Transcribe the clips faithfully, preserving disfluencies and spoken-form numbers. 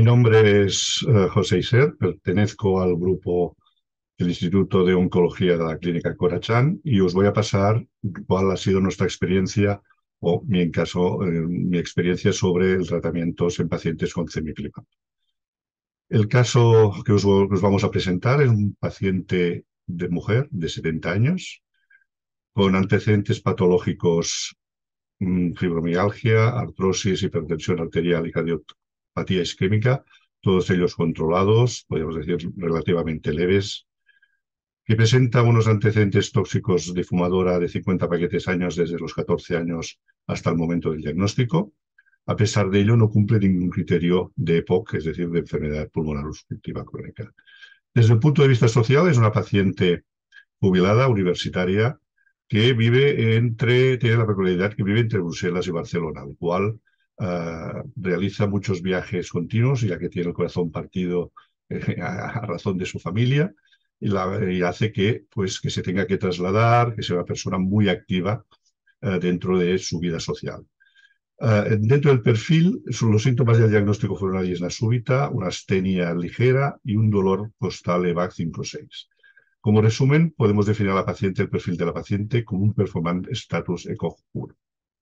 nombre es eh, José Iser, pertenezco al grupo del Instituto de Oncología de la Clínica Corachán y os voy a pasar cuál ha sido nuestra experiencia o, mi en caso, eh, mi experiencia sobre el tratamientos en pacientes con cemiplimab. El caso que os, que os vamos a presentar es un paciente de mujer de setenta años con antecedentes patológicos, mm, fibromialgia, artrosis, hipertensión arterial y cardiopatía isquémica, todos ellos controlados, podemos decir relativamente leves, que presenta unos antecedentes tóxicos de fumadora de cincuenta paquetes años desde los catorce años hasta el momento del diagnóstico. A pesar de ello, no cumple ningún criterio de E P O C, es decir, de enfermedad pulmonar obstructiva crónica. Desde el punto de vista social, es una paciente jubilada, universitaria, que vive entre, tiene la peculiaridad que vive entre Bruselas y Barcelona, lo cual uh, realiza muchos viajes continuos, ya que tiene el corazón partido eh, a, a razón de su familia, y, la, y hace que, pues, que se tenga que trasladar, que sea una persona muy activa uh, dentro de su vida social. Uh, dentro del perfil, los síntomas del diagnóstico fueron una disnea súbita, una astenia ligera y un dolor costal E V A C cinco seis. Como resumen, podemos definir a la paciente, el perfil de la paciente, como un performance status E C O G puro.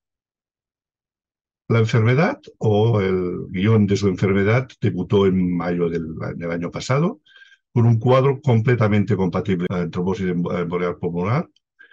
La enfermedad o el guión de su enfermedad debutó en mayo del, del año pasado con un cuadro completamente compatible con trombosis emboliar pulmonar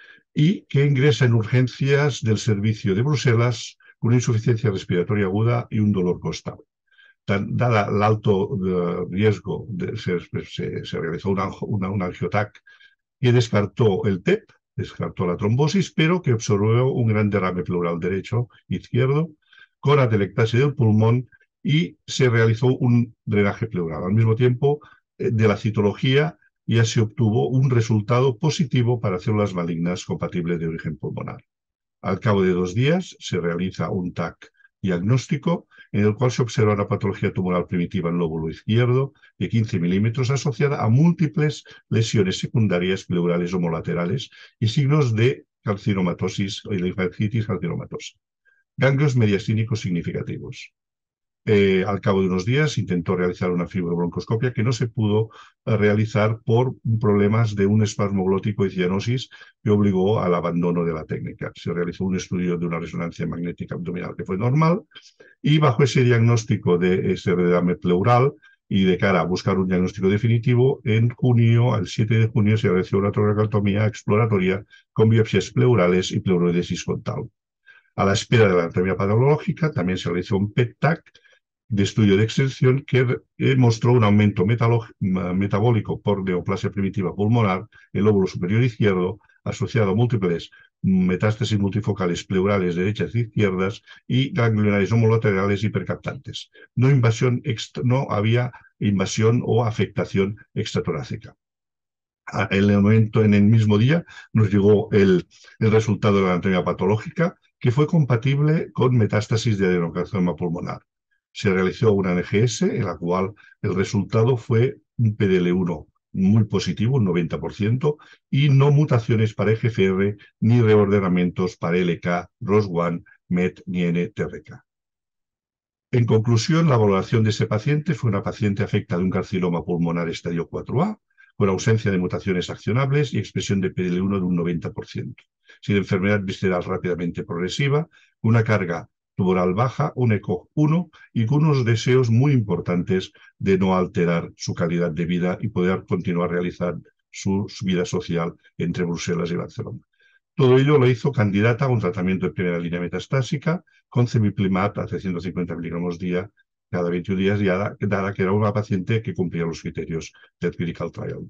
y que ingresa en urgencias del servicio de Bruselas con una insuficiencia respiratoria aguda y un dolor costal. Dada el alto uh, riesgo, de, se, se, se realizó una, una, un angiotac que descartó el T E P, descartó la trombosis, pero que observó un gran derrame pleural derecho, izquierdo, con atelectasia del pulmón y se realizó un drenaje pleural. Al mismo tiempo, eh, de la citología ya se obtuvo un resultado positivo para células malignas compatibles de origen pulmonar. Al cabo de dos días se realiza un T A C diagnóstico en el cual se observa una patología tumoral primitiva en lóbulo izquierdo de quince milímetros asociada a múltiples lesiones secundarias pleurales homolaterales y signos de carcinomatosis o linfangitis carcinomatosa. Ganglios mediastínicos significativos. Eh, al cabo de unos días intentó realizar una fibrobroncoscopia que no se pudo eh, realizar por problemas de un espasmo glótico y cianosis que obligó al abandono de la técnica. Se realizó un estudio de una resonancia magnética abdominal que fue normal y bajo ese diagnóstico de ese derrame pleural y de cara a buscar un diagnóstico definitivo, en junio, al siete de junio, se realizó una toracotomía exploratoria con biopsias pleurales y pleurodesis frontal. A la espera de la anatomía patológica también se realizó un P E T T A C de estudio de extensión que eh, mostró un aumento metabólico por neoplasia primitiva pulmonar en el lóbulo superior izquierdo asociado a múltiples metástasis multifocales pleurales derechas e izquierdas y ganglionares homolaterales hipercaptantes. No, invasión extra, no había invasión o afectación extratorácica. En el momento, en el mismo día, nos llegó el, el resultado de la anatomía patológica que fue compatible con metástasis de adenocarcinoma pulmonar. Se realizó una N G S en la cual el resultado fue un P D L uno muy positivo, un noventa por ciento, y no mutaciones para E G F R ni reordenamientos para L K, R O S uno, M E T ni N T R K. En conclusión, la valoración de ese paciente fue una paciente afecta de un carcinoma pulmonar estadio cuatro A, con ausencia de mutaciones accionables y expresión de P D L uno de un noventa por ciento, sin enfermedad visceral rápidamente progresiva, una carga tumoral baja, un E C O G uno y con unos deseos muy importantes de no alterar su calidad de vida y poder continuar realizando su, su vida social entre Bruselas y Barcelona. Todo ello lo hizo candidata a un tratamiento de primera línea metastásica con cemiplimab a trescientos cincuenta miligramos día cada veintiún días, ya dada que era una paciente que cumplía los criterios del clinical trial.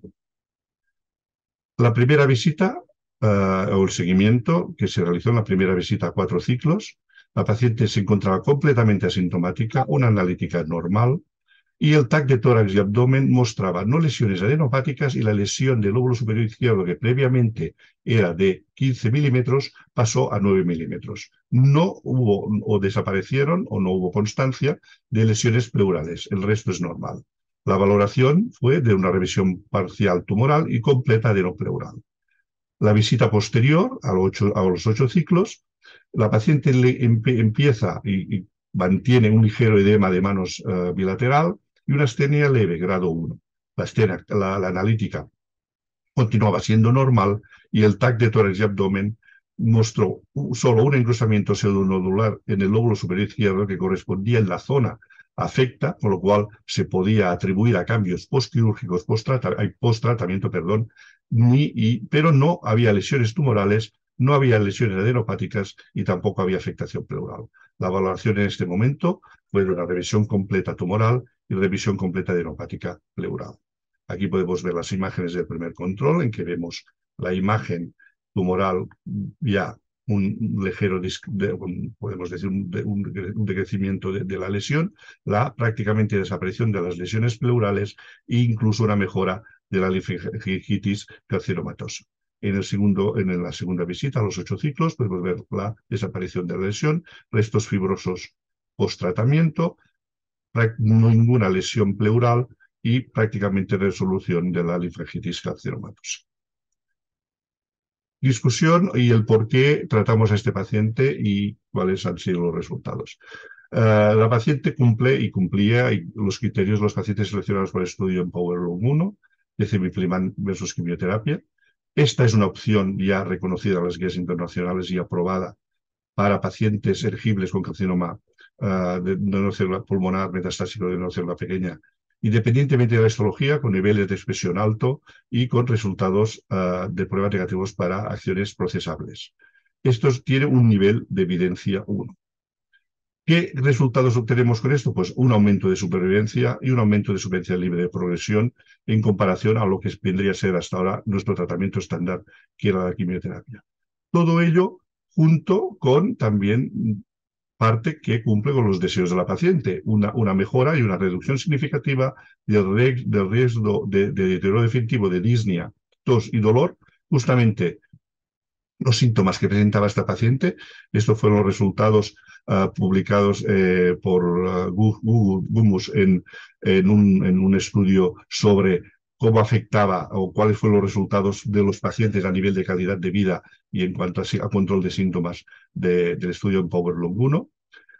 La primera visita uh, o el seguimiento que se realizó en la primera visita a cuatro ciclos, la paciente se encontraba completamente asintomática, una analítica normal, y el T A C de tórax y abdomen mostraba no lesiones adenopáticas y la lesión del lóbulo superior izquierdo, que previamente era de quince milímetros, pasó a nueve milímetros. No hubo o desaparecieron o no hubo constancia de lesiones pleurales. El resto es normal. La valoración fue de una revisión parcial tumoral y completa adenopleural. La visita posterior, a los ocho, a los ocho ciclos, la paciente le empieza y, y mantiene un ligero edema de manos uh, bilateral, y una astenia leve, grado uno. La, astenia, la, la analítica continuaba siendo normal y el T A C de tórax y abdomen mostró solo un engrosamiento pseudonodular en el lóbulo superior izquierdo que correspondía en la zona afecta, con lo cual se podía atribuir a cambios postquirúrgicos, post-tratamiento, perdón, ni, y, pero no había lesiones tumorales, no había lesiones adenopáticas y tampoco había afectación pleural. La valoración en este momento fue de una revisión completa tumoral y revisión completa adenopática pleural. Aquí podemos ver las imágenes del primer control, en que vemos la imagen tumoral ya un ligero, de, un, podemos decir, un, un, un decrecimiento de, de la lesión, la prácticamente desaparición de las lesiones pleurales e incluso una mejora de la linfadengitis carcinomatosa. En, el segundo, en la segunda visita, a los ocho ciclos, podemos ver la desaparición de la lesión, restos fibrosos post-tratamiento, no ninguna lesión pleural y prácticamente resolución de la linfadengitis carcinomatosa. Discusión y el por qué tratamos a este paciente y cuáles han sido los resultados. Uh, la paciente cumple y cumplía y los criterios de los pacientes seleccionados por el estudio en PowerLoom uno de cemiplimab versus quimioterapia. Esta es una opción ya reconocida en las guías internacionales y aprobada para pacientes elegibles con carcinoma uh, de neurocélula pulmonar metastásico de neurocélula pequeña, independientemente de la histología, con niveles de expresión alto y con resultados uh, de pruebas negativos para acciones procesables. Esto tiene un nivel de evidencia uno. ¿Qué resultados obtenemos con esto? Pues un aumento de supervivencia y un aumento de supervivencia libre de progresión en comparación a lo que vendría a ser hasta ahora nuestro tratamiento estándar, que era la quimioterapia. Todo ello junto con también parte que cumple con los deseos de la paciente, una, una mejora y una reducción significativa del, del riesgo de, de deterioro definitivo de disnea, tos y dolor, justamente los síntomas que presentaba esta paciente. Estos fueron los resultados uh, publicados eh, por uh, Google Gumus en, en, un, en un estudio sobre cómo afectaba o cuáles fueron los resultados de los pacientes a nivel de calidad de vida y en cuanto a, a control de síntomas de, del estudio en PowerLoom uno.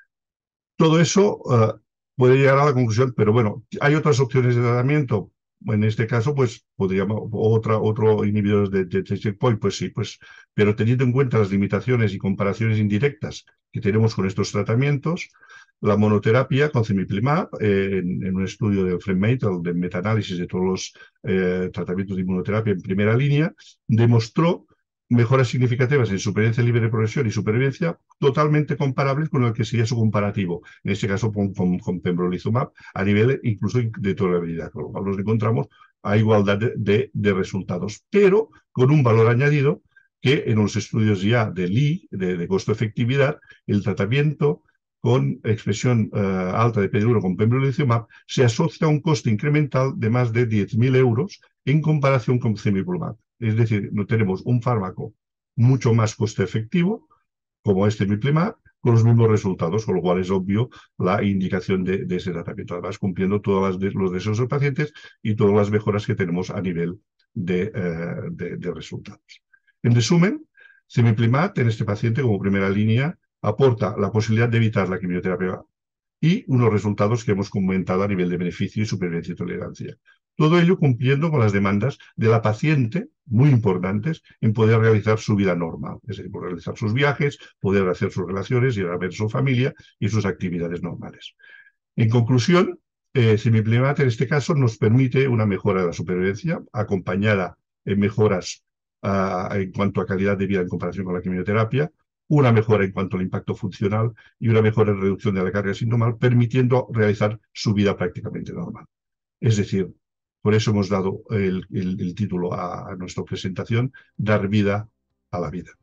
Todo eso uh, puede llegar a la conclusión, pero bueno, hay otras opciones de tratamiento. En este caso, pues, podríamos, otra, otro inhibidor de, de, de checkpoint, pues sí, pues, pero teniendo en cuenta las limitaciones y comparaciones indirectas que tenemos con estos tratamientos, la monoterapia con cemiplimab, eh, en, en un estudio de FrameMate, de metaanálisis de todos los eh, tratamientos de inmunoterapia en primera línea, demostró mejoras significativas en supervivencia libre de progresión y supervivencia totalmente comparables con el que sería su comparativo, en este caso con, con, con pembrolizumab, a nivel incluso de tolerabilidad, con lo cual nos encontramos a igualdad de, de, de resultados, pero con un valor añadido que en los estudios ya de L I, de, de costo-efectividad, el tratamiento con expresión uh, alta de P D uno con pembrolizumab se asocia a un coste incremental de más de diez mil euros en comparación con cemiplimab. Es decir, no tenemos un fármaco mucho más coste efectivo, como este cemiplimab, con los mismos resultados, con lo cual es obvio la indicación de, de ese tratamiento, además cumpliendo todos los deseos de los pacientes y todas las mejoras que tenemos a nivel de, eh, de, de resultados. En resumen, cemiplimab en este paciente como primera línea aporta la posibilidad de evitar la quimioterapia y unos resultados que hemos comentado a nivel de beneficio y supervivencia y tolerancia. Todo ello cumpliendo con las demandas de la paciente, muy importantes, en poder realizar su vida normal, es decir, poder realizar sus viajes, poder hacer sus relaciones, ir a ver su familia y sus actividades normales. En conclusión, eh, cemiplimab en este caso nos permite una mejora de la supervivencia, acompañada en mejoras uh, en cuanto a calidad de vida en comparación con la quimioterapia, una mejora en cuanto al impacto funcional y una mejora en reducción de la carga sintomal, permitiendo realizar su vida prácticamente normal. Es decir, por eso hemos dado el, el, el título a, a nuestra presentación, Dar vida a la vida.